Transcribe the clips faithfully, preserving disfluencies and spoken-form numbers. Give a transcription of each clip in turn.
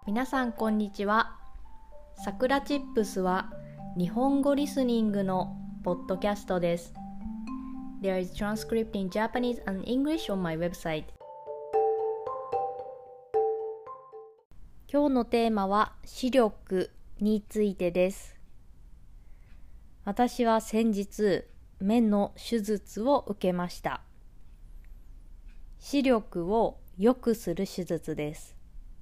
皆さんこんにちは。さくらチップスは日本語リスニングのポッドキャストです。There is transcript in Japanese and English on my website. 今日のテーマは視力についてです。私は先日目の手術を受けました。視力を良くする手術です。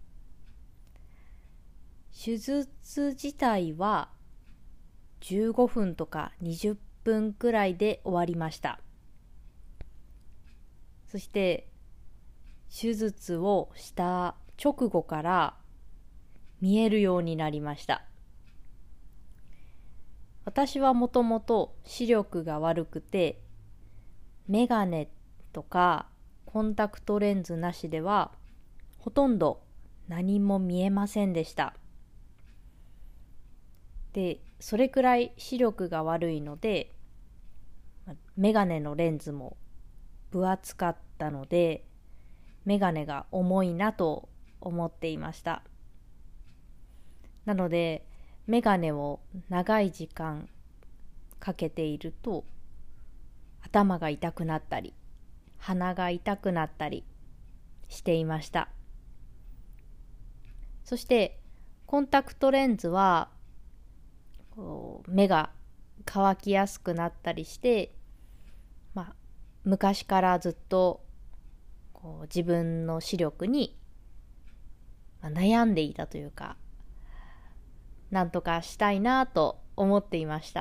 手術自体はじゅうごふんとかにじゅっぷんくらいで終わりました。そして手術をした直後から見えるようになりました。私はもともと視力が悪くて、メガネとかコンタクトレンズなしではほとんど何も見えませんでした。で、それくらい視力が悪いので、メガネのレンズも分厚かったので、メガネが重いなと思っていました。なので、メガネを長い時間かけていると、頭が痛くなったり、鼻が痛くなったりしていました。そして、コンタクトレンズは、こう目が乾きやすくなったりして、まあ、昔からずっとこう自分の視力に、まあ、悩んでいたというか、なんとかしたいなと思っていました。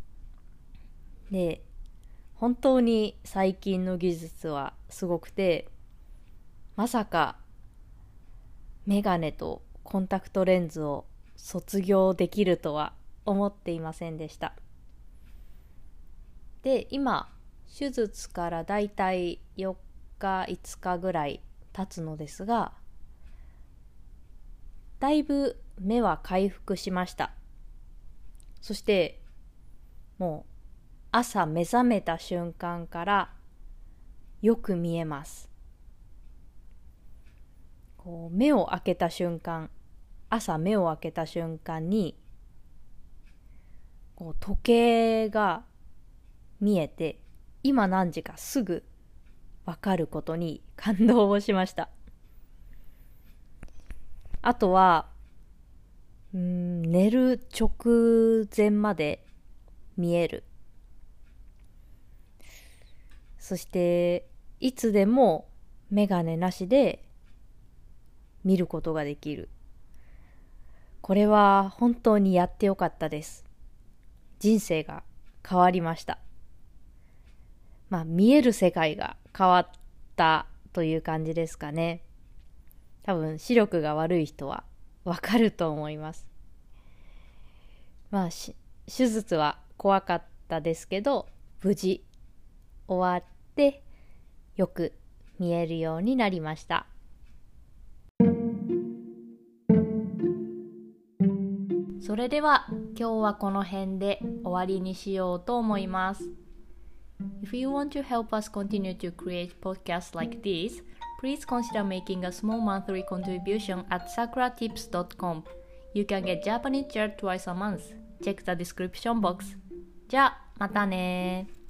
で、本当に最近の技術はすごくて、まさかメガネとコンタクトレンズを卒業できるとは思っていませんでした。で、今手術からだいたいよっかいつかぐらい経つのですが、だいぶ目は回復しました。そしてもう朝目覚めた瞬間からよく見えます。こう目を開けた瞬間、朝目を開けた瞬間にこう時計が見えて、今何時かすぐわかることに感動をしました。あとは、うーん、寝る直前まで見える。そして、いつでもメガネなしで見ることができる。これは本当にやってよかったです。人生が変わりました。まあ、見える世界が変わったという感じですかね。多分視力が悪い人はわかると思います。まあ、手術は怖かったですけど、無事終わってよく見えるようになりました。それでは今日はこの辺で終わりにしようと思います。If you want to help us continue to create podcasts like this, please consider making a small monthly contribution at sakura tips dot com. You can get Japanese chair twice a month. Check the description box. じゃあ、またね。